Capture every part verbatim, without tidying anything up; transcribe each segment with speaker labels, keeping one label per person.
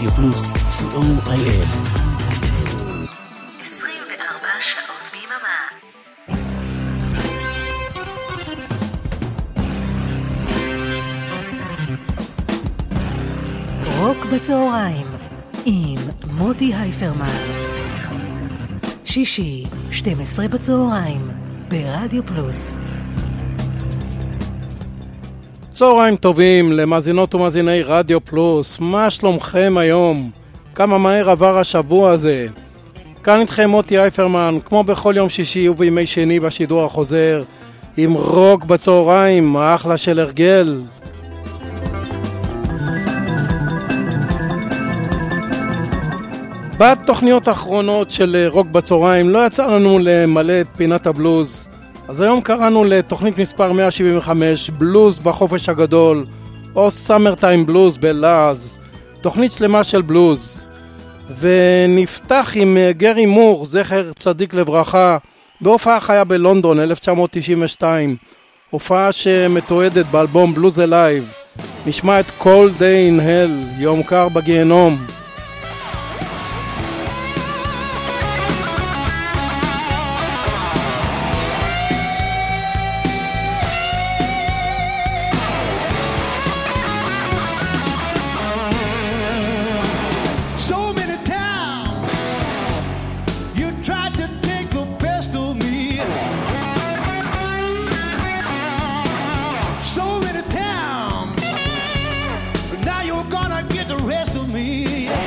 Speaker 1: רדיו פלוס, סי או איי אס.
Speaker 2: עשרים וארבע שעות ביממה. רוק בצהריים עם מוטי הייפרמן. שישי, שתים עשרה בצהריים, ברדיו פלוס.
Speaker 3: צהריים טובים למאזינות ומאזיני רדיו פלוס, מה שלומכם היום? כמה מהר עבר השבוע הזה? כאן איתכם מוטי הייפרמן, כמו בכל יום שישי ובימי שני בשידור החוזר, עם רוק בצהריים, האחלה של הרגל. בתוכניות האחרונות של רוק בצהריים לא יצא לנו למלא את פינת הבלוז, אז היום קראנו לתוכנית מספר מאה שבעים וחמש, בלוז בחופש הגדול, או סאמר טיים בלוז בלעז, תוכנית שלמה של בלוז. ונפתח עם גרי מור, זכר צדיק לברכה, בהופעה חיה בלונדון אלף תשע מאות תשעים ושתיים, הופעה שמתועדת באלבום בלוז אלייב. נשמע את Cold Day in Hell, יום קר בגיהנום.
Speaker 4: Now you're gonna get the rest of me.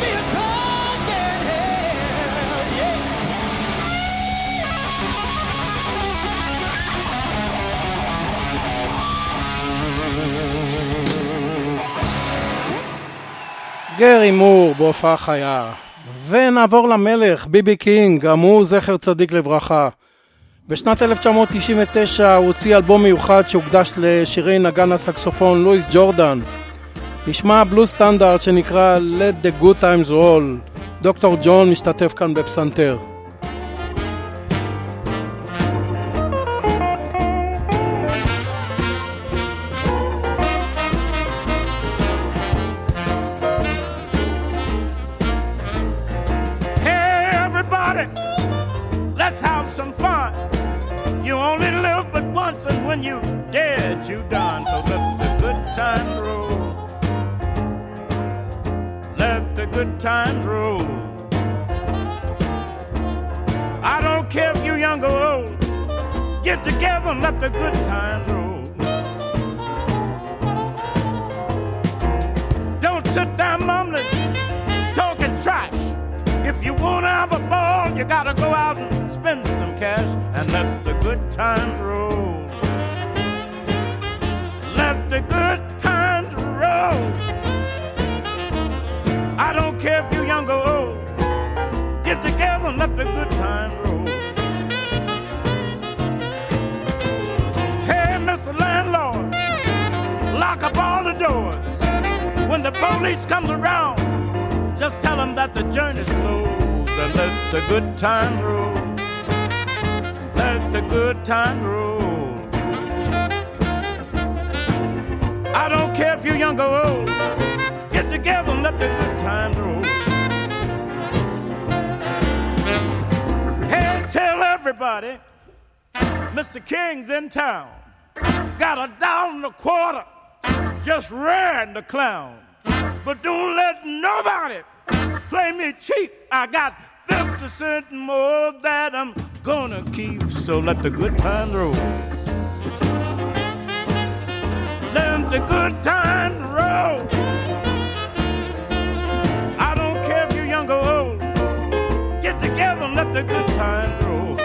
Speaker 3: גרי מור בהופעה חיה. ונעבור למלך, ביבי קינג, גם הוא זכר צדיק לברכה. בשנת אלף תשע מאות תשעים ותשע הוא הוציא אלבום מיוחד שהוקדש לשירי נגן הסקסופון לואיס ג'ורדן. נשמע בלוז סטנדרט שנקרא Let the Good Times Roll. דוקטור ג'ון משתתף כאן בפסנתר.
Speaker 4: And when you dead, you done. So let the good times roll. Let the good times roll. I don't care if you young or old. Get together and let the good times roll. Don't sit there mumbling, talking trash. If you wanna have a ball, you gotta go out and spend some cash and let the good times roll. Let the good times roll. I don't care if you're young or old. Get together and let the good times roll. Hey, Mister Landlord, lock up all the doors. When the police comes around, just tell them that the journey's closed and let the good times roll. Let the good times roll. I don't care if you're young or old. Get together and let the good times roll. Hey, tell everybody, Mister King's in town. Got a dollar and a quarter, just ran the clown. But don't let nobody play me cheap. I got fifty cents more that I'm gonna keep. So let the good times roll. Let the good times roll. I don't care if you're young or old. Get together and let the good times roll.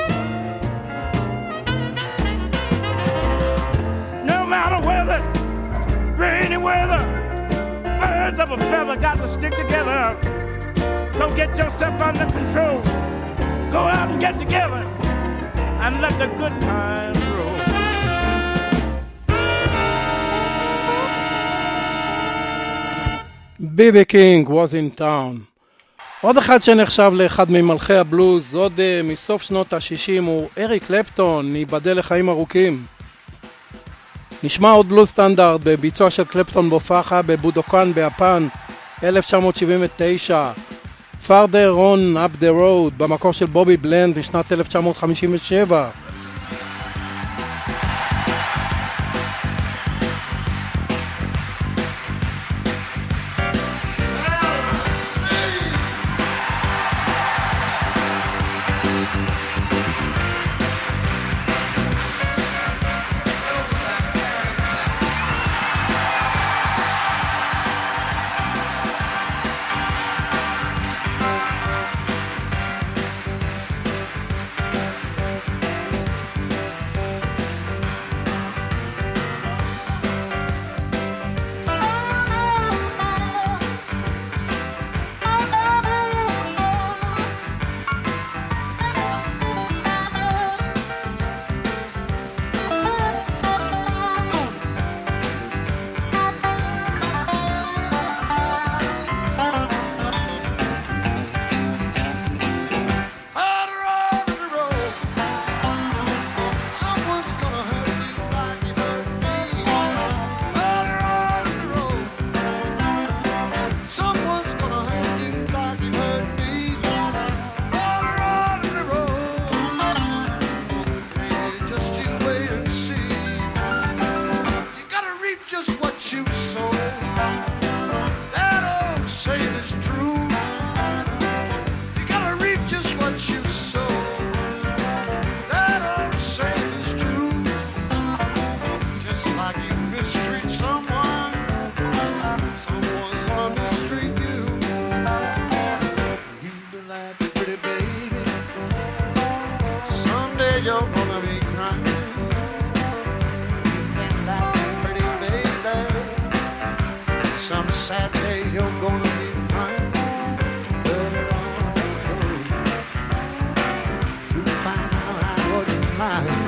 Speaker 4: No matter whether it's rainy weather, birds of a feather got to stick together. So get yourself under control. Go out and get together and let the good times roll.
Speaker 3: ביבי קינג was in town. עוד אחד שנחשב לאחד ממלכי הבלוז, עוד uh, מסוף שנות ה-שישים, הוא אריק קלפטון, ייבדל לחיים ארוכים. נשמע עוד בלוז סטנדרט בביצוע של קלפטון בהופעה בבודוקן ביפן, אלף תשע מאות שבעים ותשע. Farther on up the road, במקור של בובי בלנד בשנת אלף תשע מאות חמישים ושבע.
Speaker 5: sad day you're gonna be crying. Further on the road, you'll find out I wasn't lying.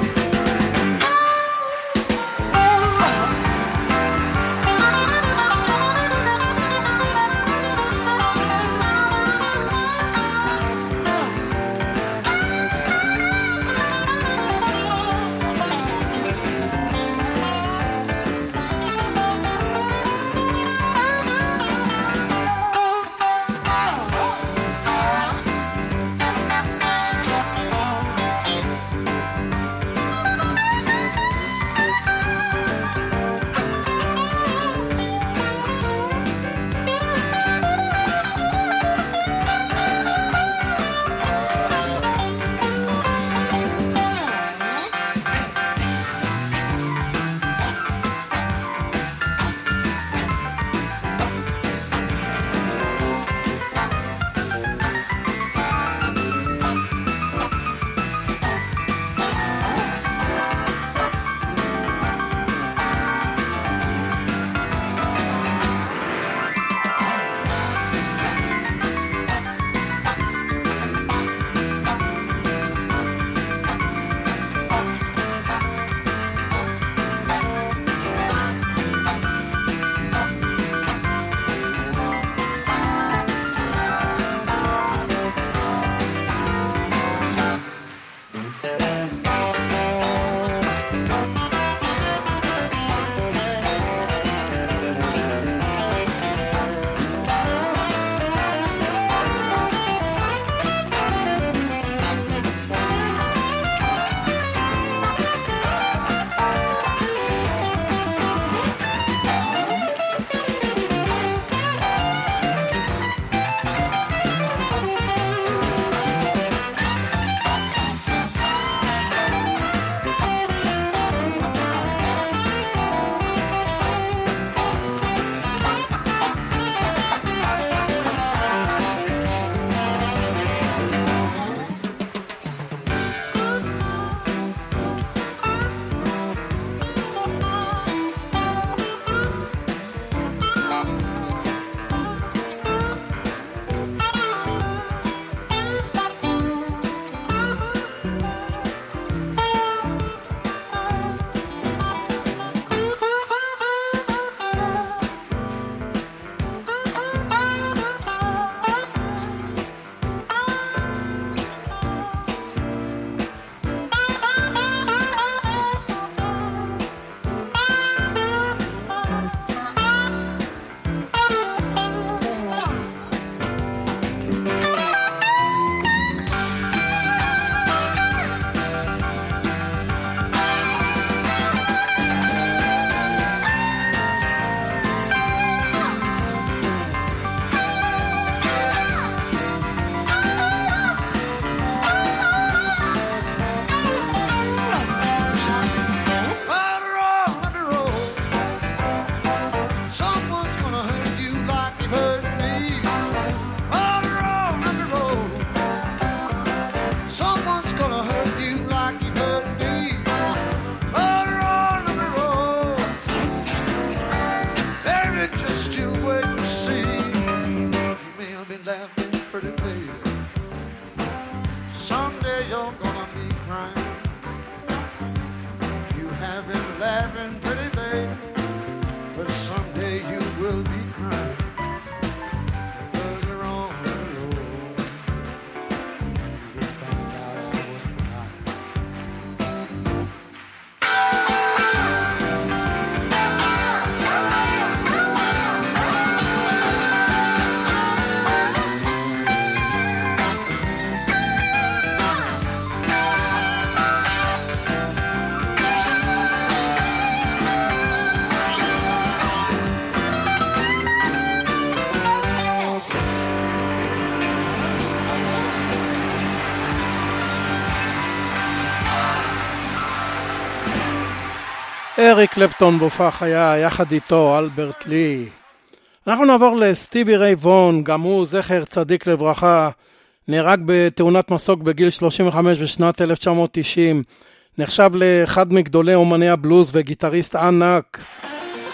Speaker 3: אריק קלפטון בהופעה חיה, יחד איתו אלברט לי. אנחנו נעבור לסטיבי ריי וון, גם הוא זכר צדיק לברכה, נהרג בתאונת מסוק בגיל שלושים וחמש בשנת אלף תשע מאות תשעים, נחשב לאחד מגדולי אומני הבלוז וגיטריסט ענק.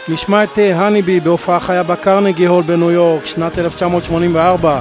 Speaker 3: נשמע את הניבי בהופעה חיה בקרנגי הול בניו יורק, שנת אלף תשע מאות שמונים וארבע.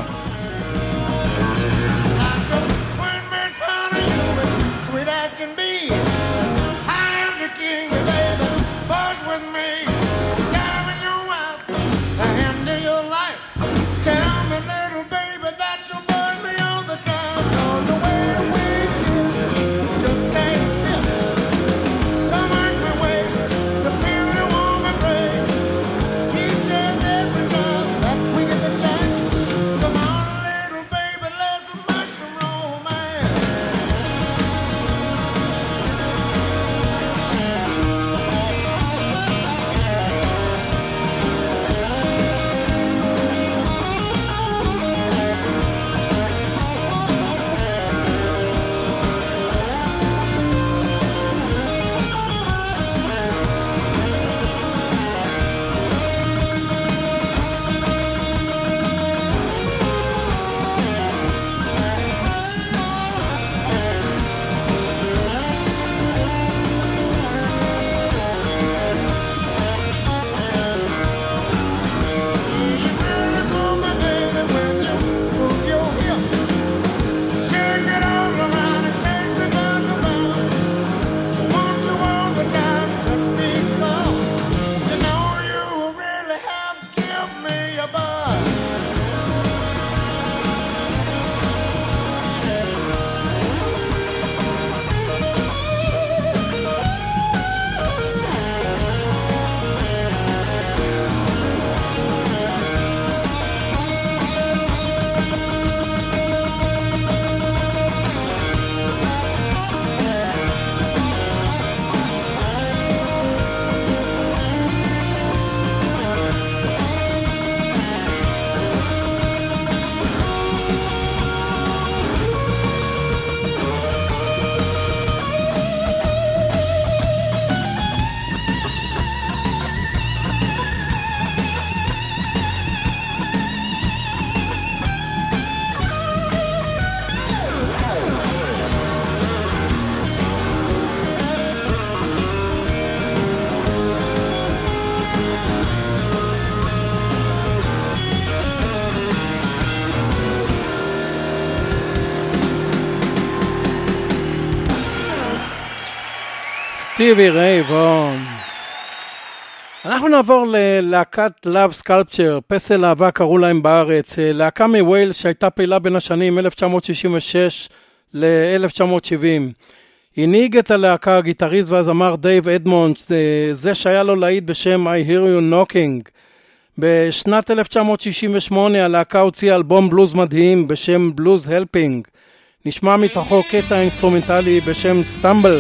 Speaker 3: סטיבי ריי וון. אנחנו נעבור ללהקת Love Sculpture, פסל אהבה קראו להם בארץ, להקה מווילס שהייתה פעילה בין השנים אלף תשע מאות שישים ושש ל-אלף תשע מאות שבעים. הנהיג את הלהקה הגיטריסט והזמר דייב אדמונדס, זה שהיה לו להיט בשם I Hear You Knocking. בשנת אלף תשע מאות שישים ושמונה הלהקה הוציאה אלבום בלוז מדהים בשם בלוז הלפינג. נשמע מתוכו קטע אינסטרומנטלי בשם סטמבל.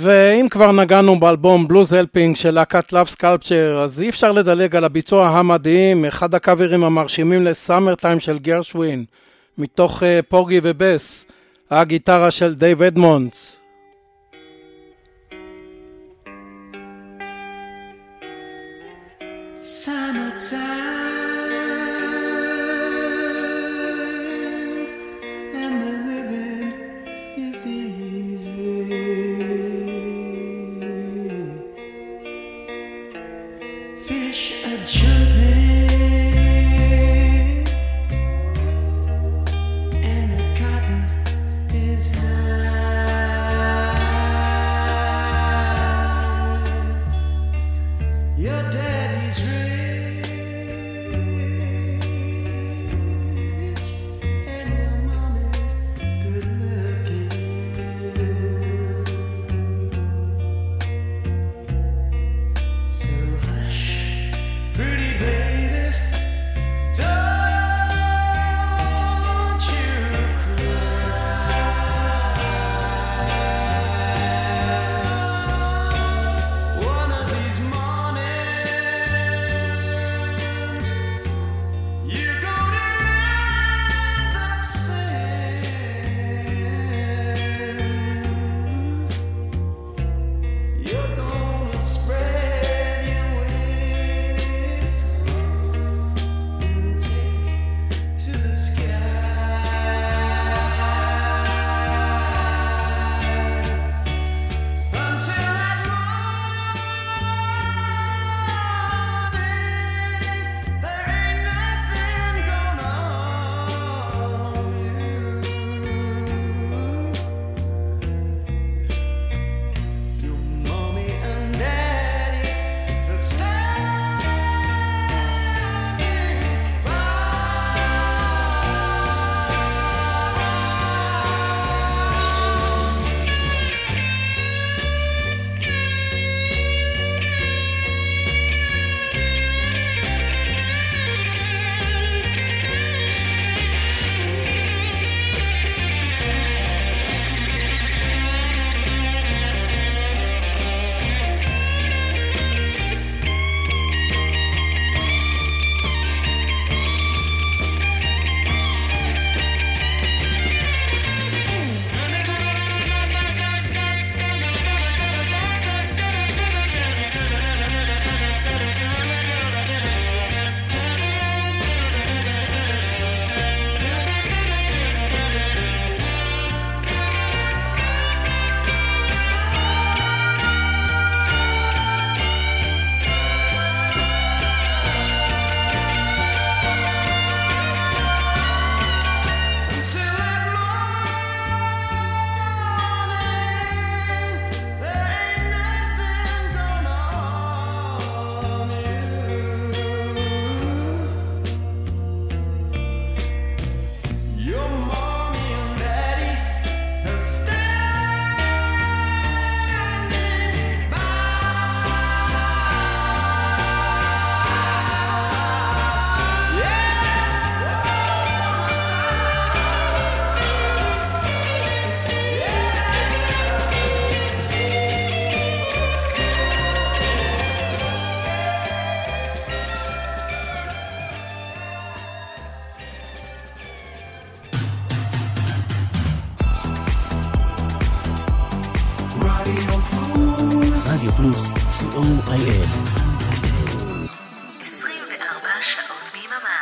Speaker 3: ואם כבר נגענו באלבום בלוז הלפינג של להקת לאב סקלפצ'ר, אז אי אפשר לדלג על הביצוע המדהים, אחד הקאברים המרשימים לסאמר טיים של גרשווין, מתוך uh, פורגי ובס, הגיטרה של דייב אדמונדס.
Speaker 6: Summertime and the living is easy. Fish are jumping and the cotton is high. Your daddy's rich and your mommy's good looking. So hush, pretty baby, don't you cry. One of these mornings you're gonna rise up singing. You're gonna spread your wings and take to the sky until that morning. There ain't nothing gonna harm you. Your mommy and daddy are standing by. Until that morning, there ain't nothing gonna harm you. Your mommy and daddy are standing by. Yeah,
Speaker 1: רדיו פלוס, סי או איי אס.
Speaker 2: עשרים וארבע שעות ביממה.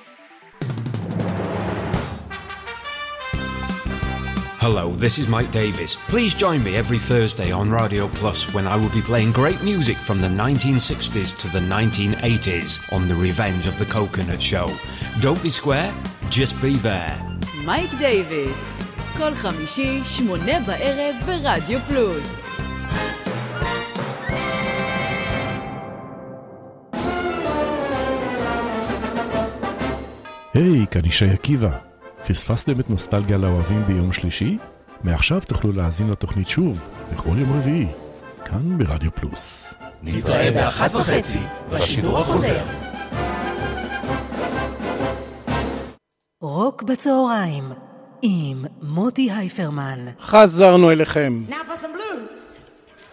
Speaker 7: Hello, this is Mike Davis. Please join me every Thursday on Radio Plus when I will be playing great music from the nineteen sixties to the nineteen eighties on The Revenge of the Coconut Show. Don't be square, just be there.
Speaker 8: מייק דייביס, כל חמישי, שמונה בערב ברדיו פלוס.
Speaker 1: היי, כאן ישי עקיבא. פספסתם את נוסטלגיה לאוהבים ביום שלישי? מעכשיו תוכלו להאזין לתוכנית שוב, בכל יום רביעי, כאן ברדיו פלוס.
Speaker 9: נתראה באחת וחצי, בשידור החוזר.
Speaker 2: רוק בצהריים, עם מוטי הייפרמן.
Speaker 3: חזרנו אליכם.
Speaker 10: Now for some blues.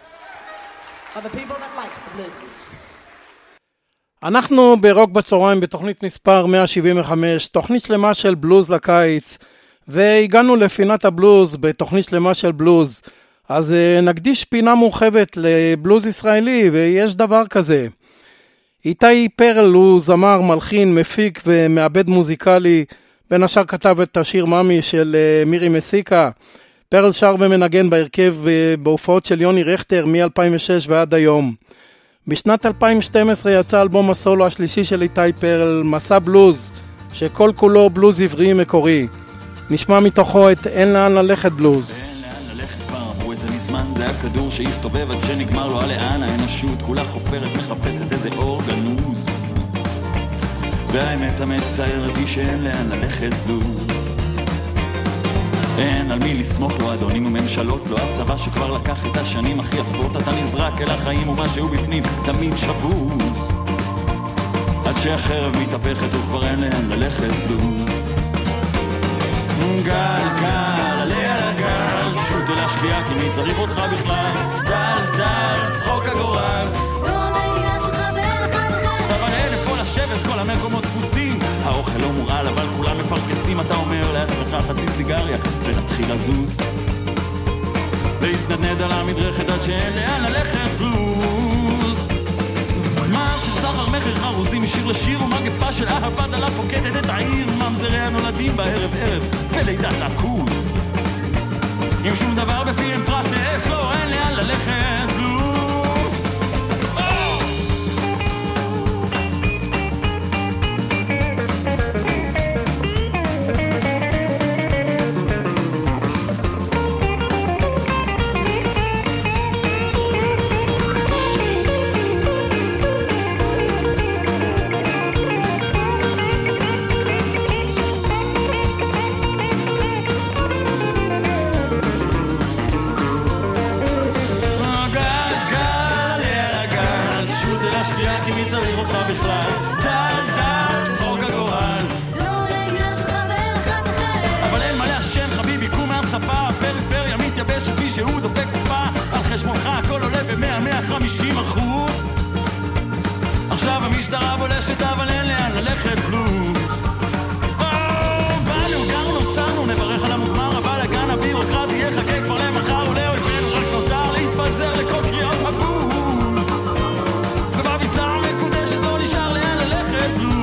Speaker 10: for the people that likes the blues.
Speaker 3: אנחנו ברוק בצהריים בתוכנית מספר מאה שבעים וחמש, תוכנית שלמה של בלוז לקיץ, והגענו לפינת הבלוז בתוכנית שלמה של בלוז. אז נקדיש פינה מורחבת לבלוז ישראלי, ויש דבר כזה. איתי פרל הוא זמר, מלחין, מפיק ומעבד מוזיקלי, בין השאר כתב את השיר ממי של מירי מסיקה. פרל שר ומנגן בהרכב בהופעות של יוני רכטר מ-אלפיים ושש ועד היום. בשנת אלפיים ושתים עשרה יצא אלבום הסולו השלישי של איתי פרל, מסע בלוז, שכל כולו בלוז עברי מקורי. נשמע מתוכו את אין לאן ללכת בלוז.
Speaker 11: אין לאן ללכת כבר, אמרו את זה מזמן, זה הכדור שהסתובב עד שנגמר לו הלאן, האנושות כולה חופרת מחפשת איזה אור גנוז, והאמת המצערת היא שאין לאן ללכת בלוז. אין על מי לסמוך, לא אדונים וממשלות, לא הצבא שכבר לקח את השנים הכי יפות, אתה נזרק אל החיים ומשהו בפנים תמיד שבוז, עד שהחרב מתהפכת וכבר אין לאן ללכת בלוז. גל גל עליה לגל, שוט אל השקיעה כי מי צריך אותך בכלל, דל דל צחוק הגורל, זו המדינה שלך ואין אחד אחר, אבל אין איפה לשבת, כל המקומות דפוסים, האוכל לא מורעל אבל כולם מפרקסים, אתה אומר לעצמך חצי סיגריה ונתחיל לזוז, להתנדנד על המדרכת עד שאין לאן ללכת בלוז. זמן של סחר מחר חרוזים משיר לשיר, ומגפה של אהבה דלה פוקדת את העיר, ממזרי הנולדים בערב ערב ולידת הכוז, עם שום דבר בפיהם פרט נאף, לא אין לאן ללכת בלוז. שהוא דופק קופה על חשבונך, הכל עולה ב-מאה מאה וחמישים אחוז. עכשיו המשטרה בולשת אבל אין לאן ללכת בלוז. באנו, גרנו, צרנו, נברך על המוגמר, אבל הגן הבירוקרטי יחכה כבר למחר, ולאויבינו רק נותר להתפזר לכל קריאות הבוז, ובביצה המקודשת לא נשאר לאן ללכת בלוז.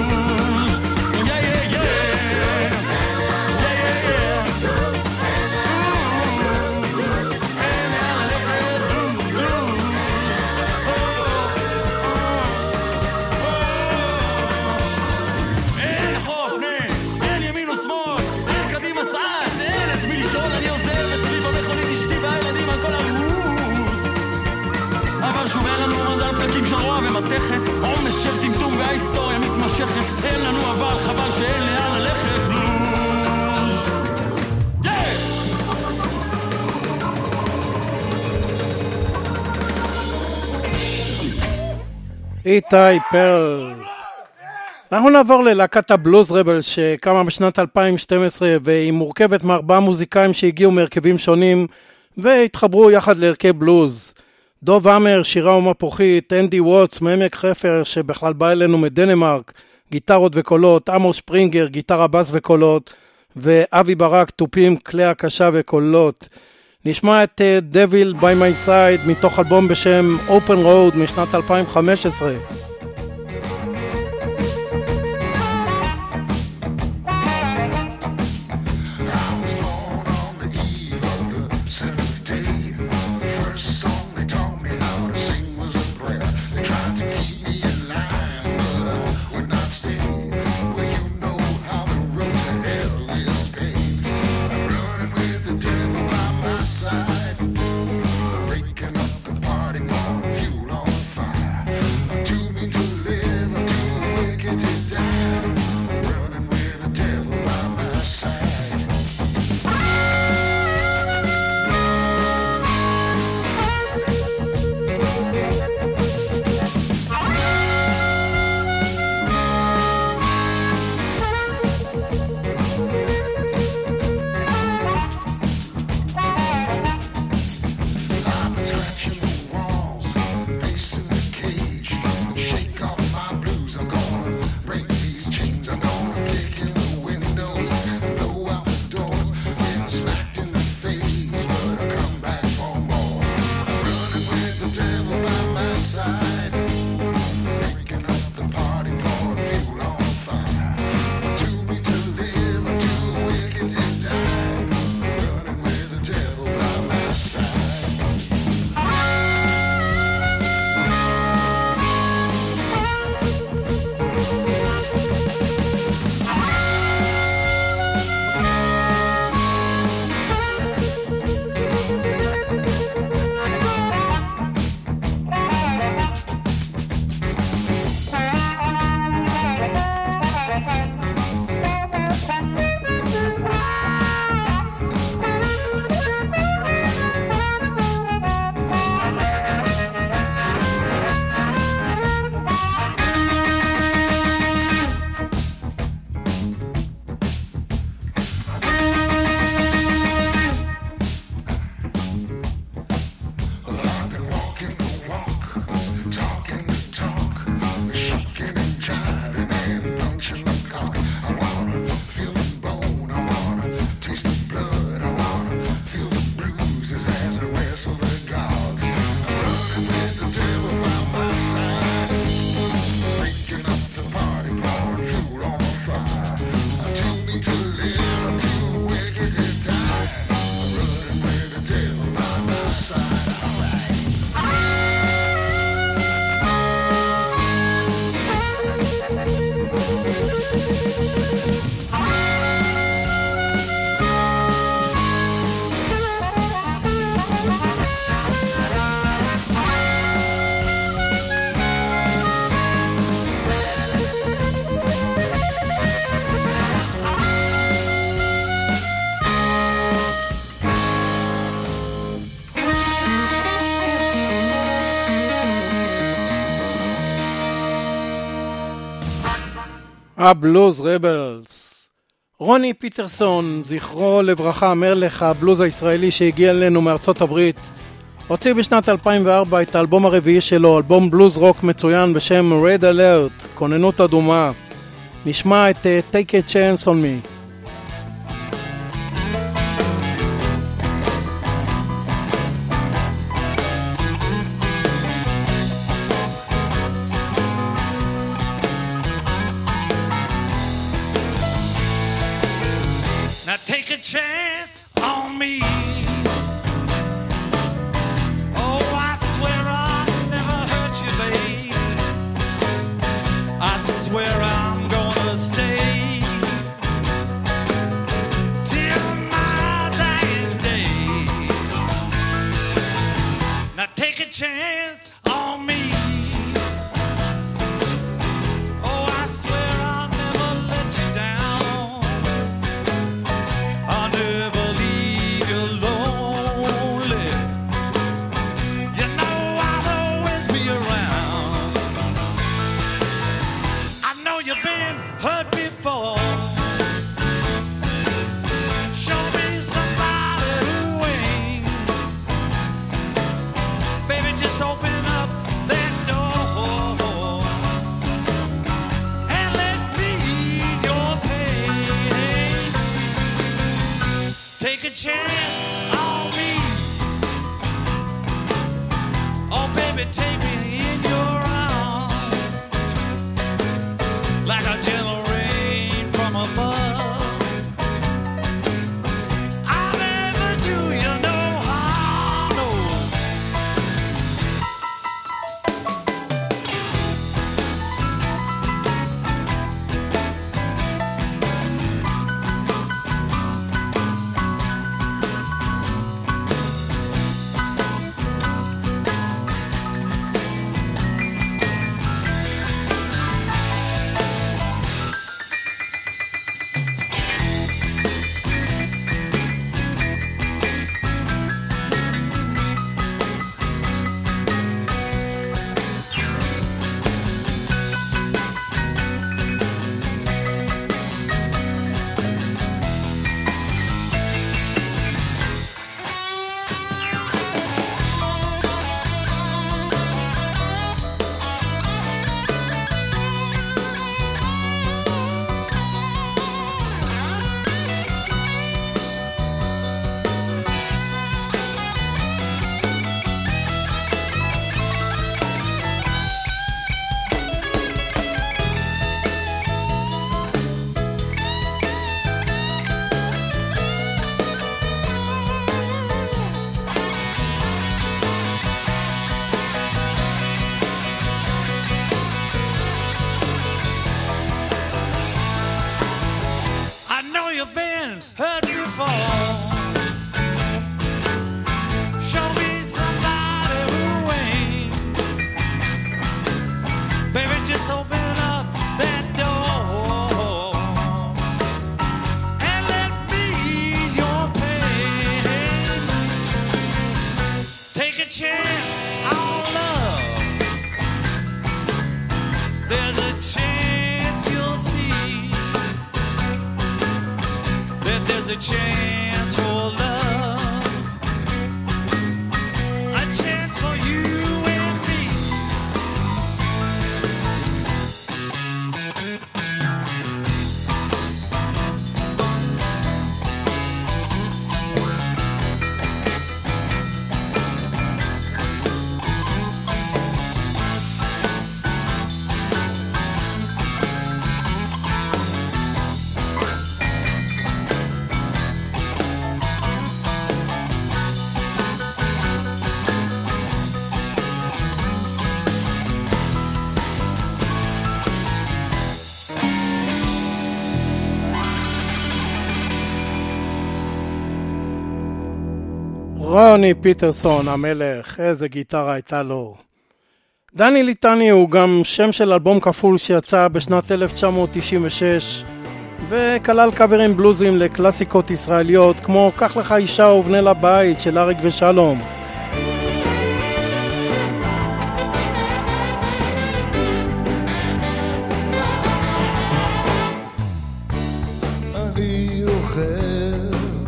Speaker 11: שוב אין לנו מזל פלקים של רוע ומתכת, עומס של טמטום וההיסטוריה מתמשכת, אין לנו אבל חבל שאין לאן ללכת בלוז.
Speaker 3: איתי פרל. אנחנו נעבור ללהקת הבלוז רבל שקמה בשנת אלפיים ושתים עשרה, והיא מורכבת מארבעה מוזיקאים שהגיעו מהרכבים שונים והתחברו יחד להרכב בלוז. דוב אמר, שירה ומפוחית, אנדי ווטס מעמק חפר שבכלל בא אלינו מדנמרק, גיטרות וקולות, עמוס שפרינגר, גיטרה בס וקולות, ואבי ברק, טופים, כלי הקשה וקולות. נשמע את Devil by My Side מתוך אלבום בשם Open Road משנת אלפיים וחמש עשרה.
Speaker 5: Breaking up the party, fuel on fire. Too many
Speaker 3: הבלוז רבלס. רוני פיטרסון, זכרו לברכה, מלך הבלוז הישראלי שהגיע אלינו מארצות הברית, הוציא בשנת אלפיים וארבע את האלבום הרביעי שלו, אלבום בלוז רוק מצוין בשם Red Alert, כוננות אדומה. נשמע את uh, Take a Chance on Me.
Speaker 11: Now take a chance on me. Oh, I swear I'll never hurt you, babe. I swear I'm gonna stay till my dying day. Now take a chance on me. Oh, I swear I'll never let you down. I'll never leave you lonely. You know I'll always be around. I know you've been hurt before. Show me somebody who ain't. Baby, just open up that door and let me ease your pain. Take a chance on me. Oh, baby, take me in your arms like a gentle rain from above. I'll never do you no harm, no. I know you've been hurt before. Show me somebody who ain't. Baby, just open up that door and let me ease your pain. Take a chance on love. There's a chance you'll see that there's a chance for love, a chance for you and me.
Speaker 3: רוני פיטרסון, המלך, איזה גיטרה הייתה לו. דני ליטני הוא גם שם של אלבום כפול שיצא בשנת אלף תשע מאות תשעים ושש, וכלל קאברים בלוזים לקלאסיקות ישראליות כמו קח לך אישה ובנה לבית של אריק ושלום.
Speaker 12: זוכר,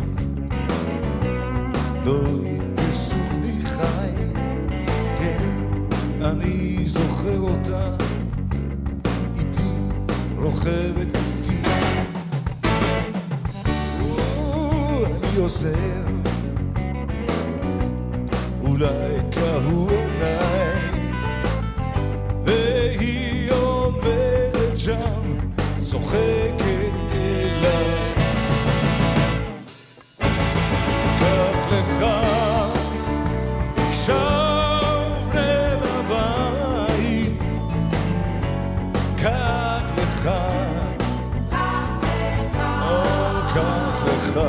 Speaker 12: לא יתפסוני חי, כן, אני זוכר אותה, איתי רוכבת איתי. אני עוזר, אולי קהו עיניי, והיא עומדת שם, צוחקת אליי. קח לך שוב אל הבית, קח לך, או קח לך.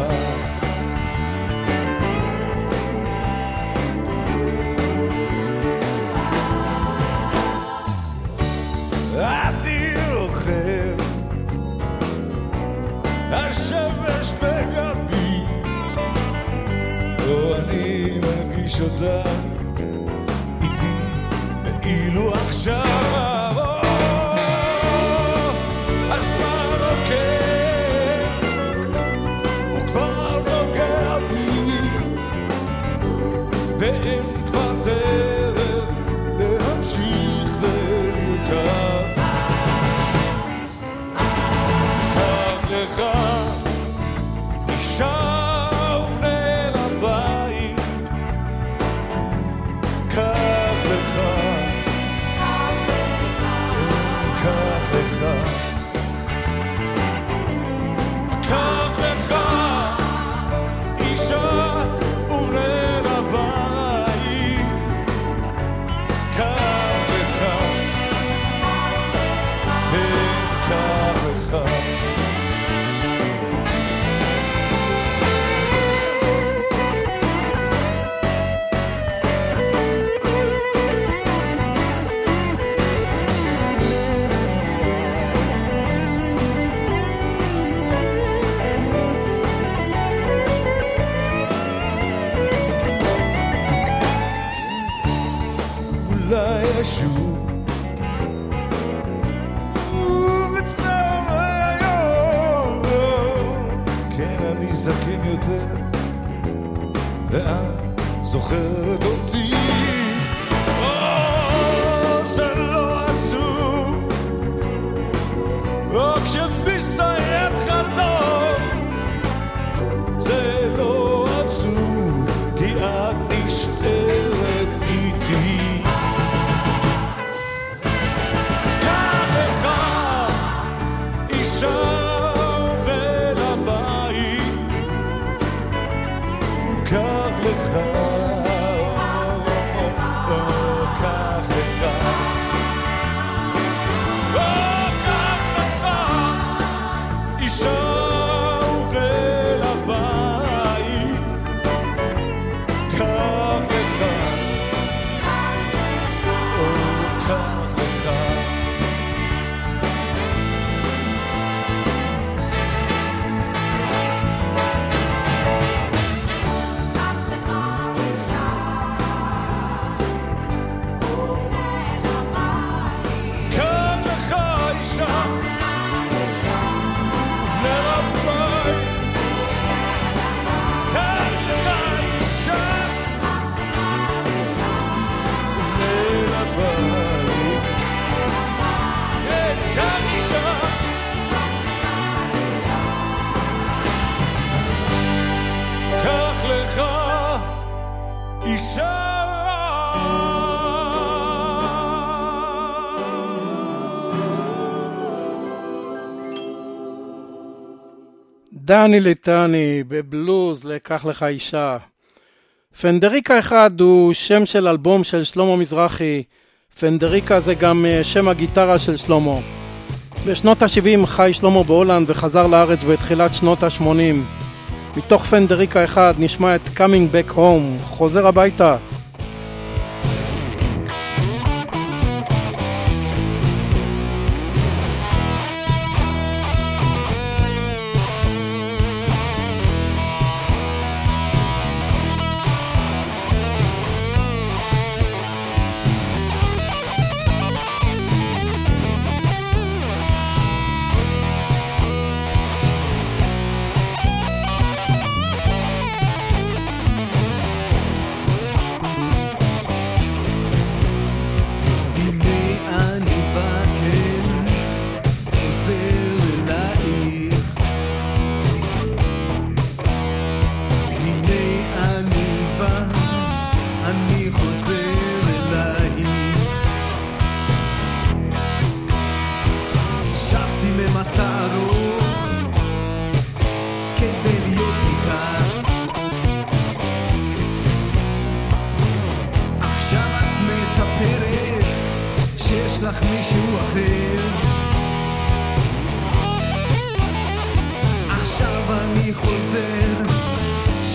Speaker 12: השמש בגבי, או אני מרגיש אותה איתי ואילו עכשיו הזמן עוקב, הוא כבר נוגע בי ואין כבר דרך להמשיך ולרכב. קח לך שוב אל הבית, קח לך, קח לך, קח לך אישה ובני לבית, קח לך, קח לך. אולי אשוב ובצער היום, כן אני זקן יותר ואת זוכרת אותי. או זה לא עצוב, או כשמסתיים חלום, זה לא עצוב כי את נשארת איתי. שוב אל הבית, קח לך, קח לך, קח לך, שוב אל הבית, קח לך, קח לך.
Speaker 3: דני ליטני בבלוז לקח לך אישה. פנדריקה אחד הוא שם של אלבום של שלמה מזרחי. פנדריקה זה גם שם הגיטרה של שלמה. בשנות ה-שבעים חי שלמה בהולנד וחזר לארץ בתחילת שנות ה-שמונים. מתוך פנדריקה אחד נשמע את Coming Back Home, חוזר הביתה.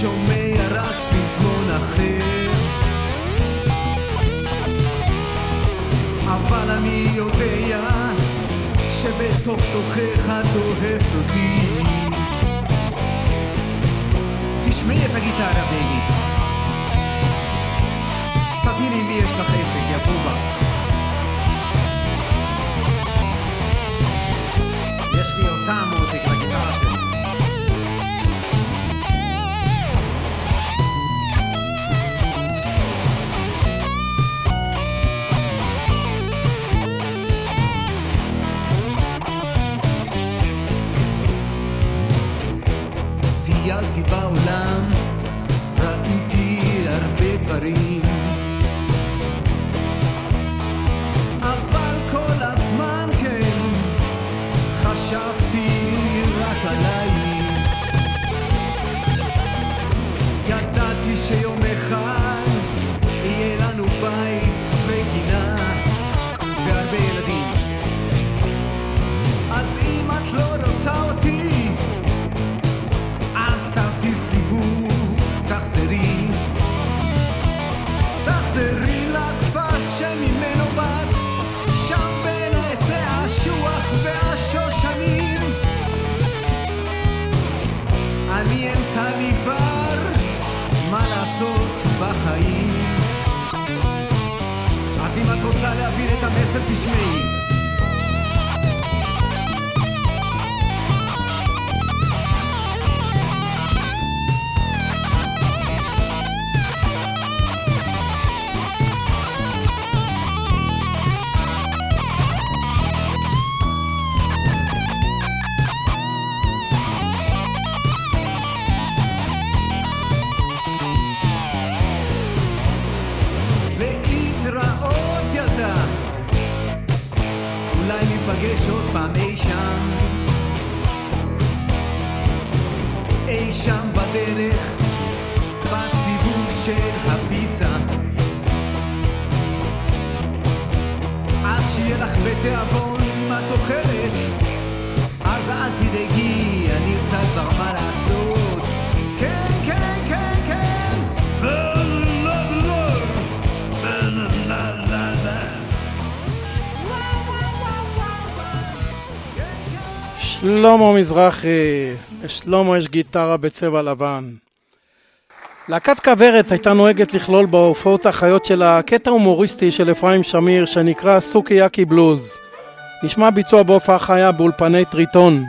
Speaker 13: שומע רק פזמון אחר, אבל אני יודע שבתוך תוכך את אוהבת אותי. תשמעי את הגיטרה בני, שתביני מי יש לך עסק, יא בובה. יש לי אותה מותק לגיטרה שלי. טיילתי בעולם, ראיתי הרבה דברים, אבל כל הזמן כן חשבתי רק עלייך. ידעתי שיום אחד יהיה לנו בית וגינה והרבה ילדים, אז אם את לא רוצה אותי תעשי סיבוב, תחזרי, תחזרי לכפר שממנו באת, שם בין העצי השוח והשושנים. אני אמצא לי כבר מה לעשות בחיים, אז אם את רוצה להבין את המסר תשמעי. ניפגש עוד פעם אי שם, אי שם בדרך, בסיבוב של הפיצה. אז שיהיה לך בתיאבון אם את אוכלת, אז אל תדאגי, אני אמצא כבר מה לעשות. כן, כן, כן, כן,
Speaker 3: שלמה מזרחי, לשלמה יש גיטרה בצבע לבן. להקת כוורת הייתה נוהגת לכלול בהופעות החיות של הקטע הומוריסטי של אפרים שמיר שנקרא סוקיאקי בלוז. נשמע ביצוע בהופעה חיה באולפני טריטון.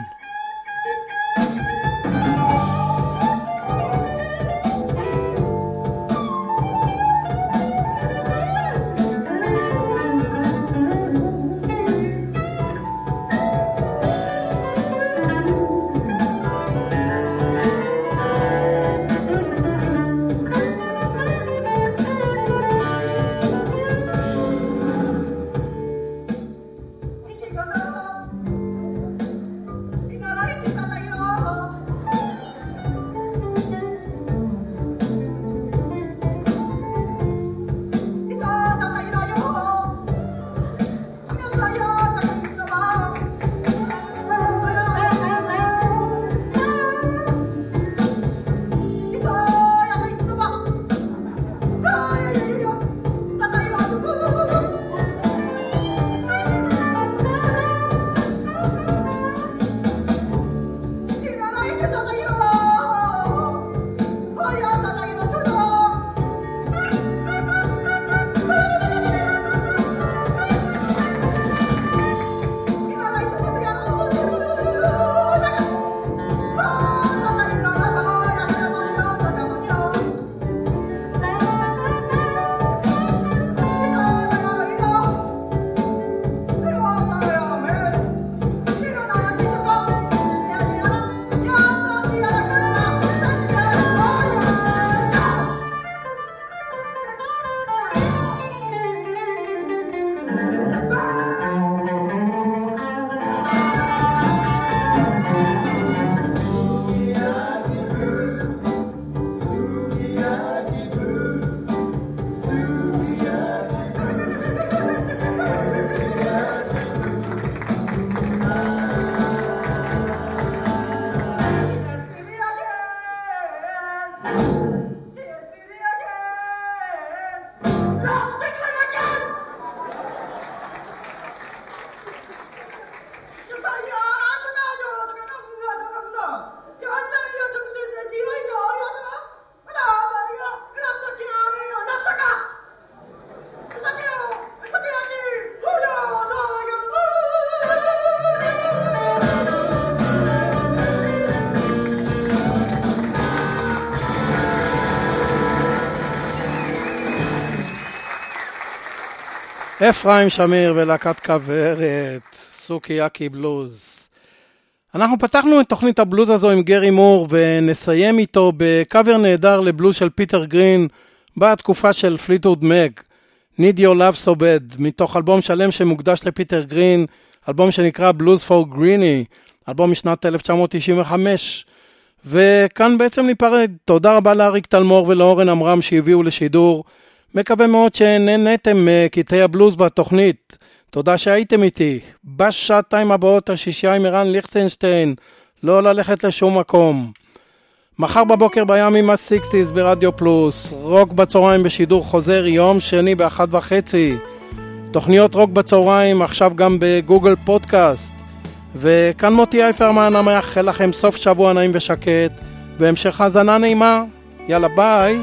Speaker 3: אפרים שמיר ולהקת כוורת, סוקיאקי בלוז. אנחנו פתחנו את תוכנית הבלוז הזו עם גרי מור, ונסיים איתו בקאבר נהדר לבלוז של פיטר גרין, בתקופה של פליטווד מק, Need Your Love So Bad, מתוך אלבום שלם שמוקדש לפיטר גרין, אלבום שנקרא Blues for Greenie, אלבום משנת אלף תשע מאות תשעים וחמש. וכאן בעצם ניפרד. תודה רבה לאריק תלמור ולאורן אמרם שהביאו לשידור. מקווה מאוד שנהנתם מקטעי הבלוז בתוכנית. תודה שהייתם איתי. בשעתיים הבאות השישייה עם ערן ליכטנשטיין, לא ללכת לשום מקום. מחר בבוקר בימים ה-שישים ברדיו פלוס, רוק בצהריים בשידור חוזר יום שני באחת וחצי. תוכניות רוק בצהריים עכשיו גם בגוגל פודקאסט. וכאן מוטי אייפרמן, המאחל לכם סוף שבוע נעים ושקט, והמשך האזנה נעימה. יאללה ביי.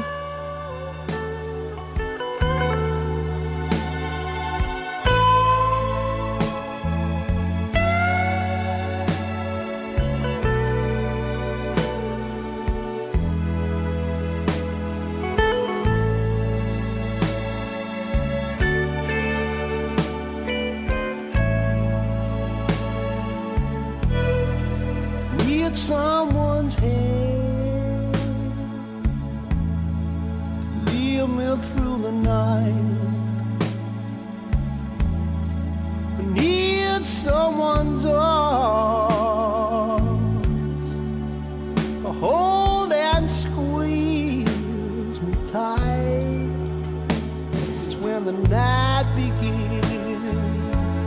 Speaker 5: Someone's hand lead me through the night. I need someone's arms to hold and squeeze me tight. It's when the night begins.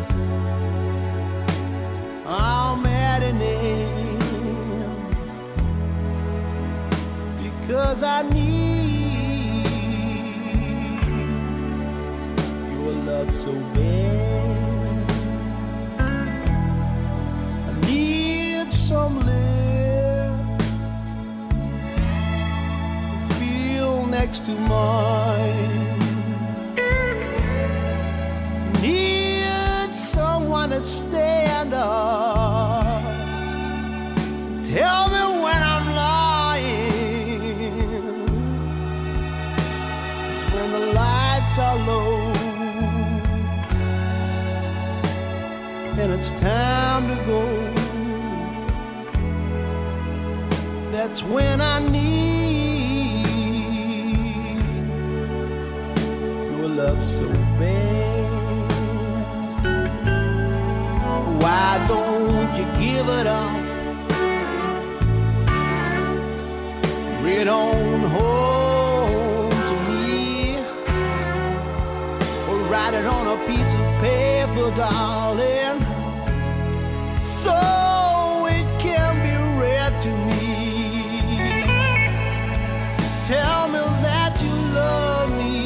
Speaker 5: I'm at an end. Cause I need your love so bad. I need some lips to feel next to mine. Need someone to stand up. Tell me when I'm lying. When the lights are low and it's time to go, that's when I need your love so bad. Why don't you give it up? Read on home to me, or write it on a piece of paper, darling, so it can be read to me. Tell me that you love me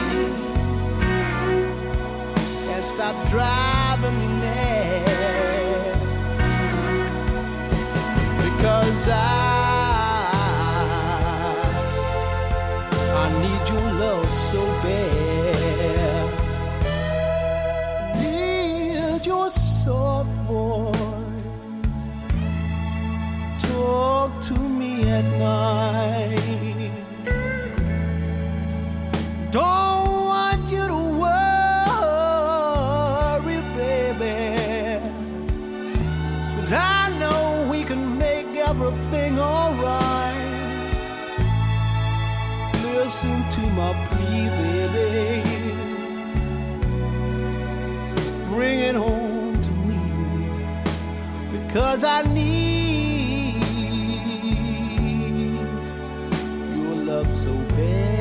Speaker 5: and stop driving me mad, because I I need your love so bad. Need your soft voice. Talk to me at night. Don't want you to worry, baby, 'cause I know we can make everything alright. Listen to my plea, baby. Bring it home to me, because I need your love so bad.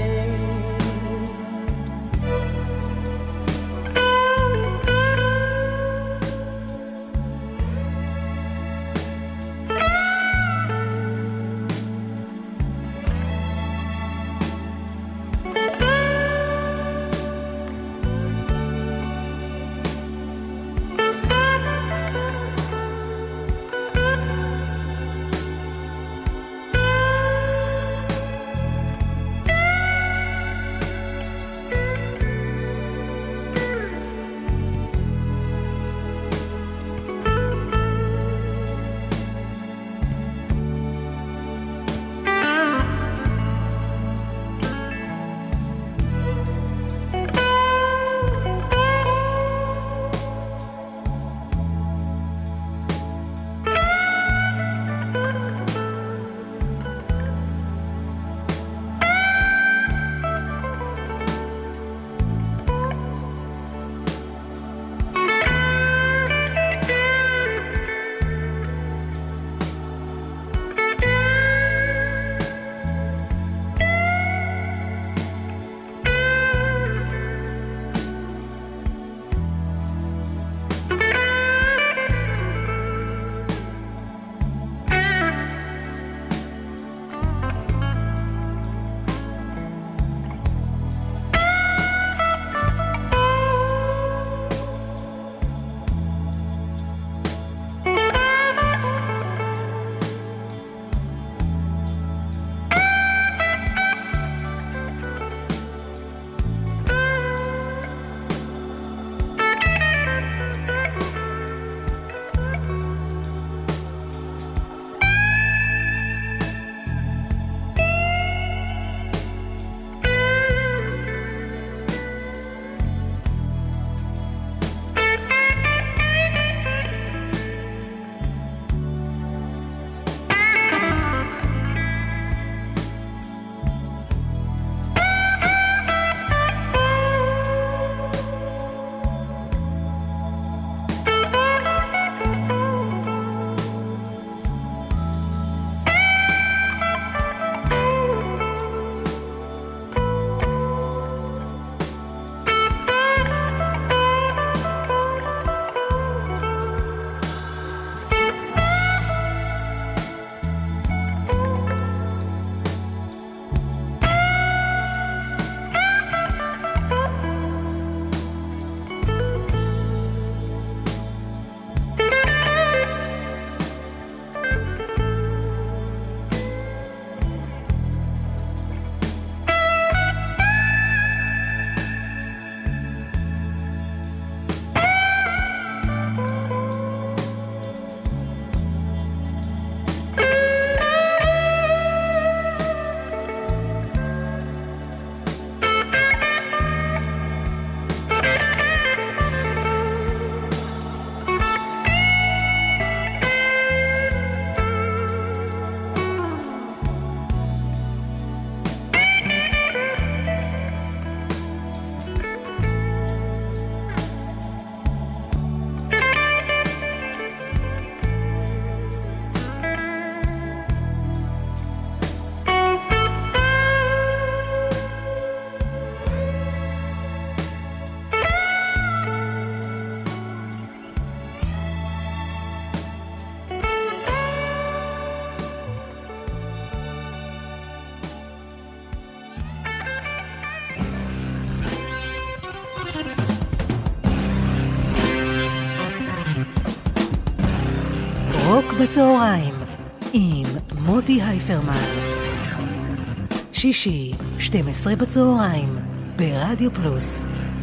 Speaker 2: בצהריים עם מוטי הייפרמן. שישי, שתים עשרה בצהריים, ברדיו פלוס.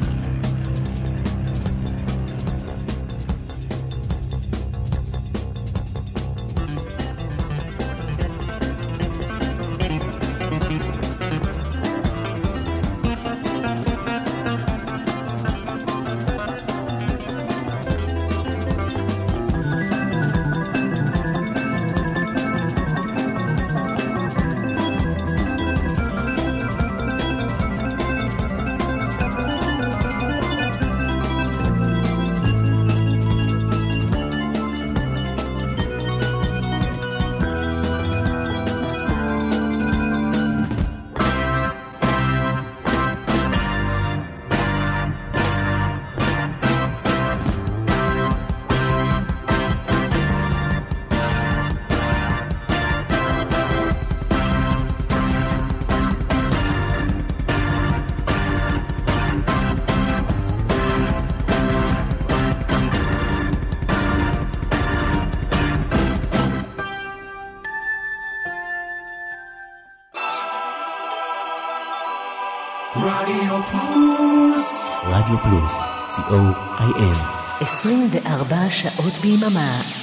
Speaker 9: רדיו פלוס. רדיו פלוס, סי או איי אל.
Speaker 2: עשרים וארבע שעות ביממה.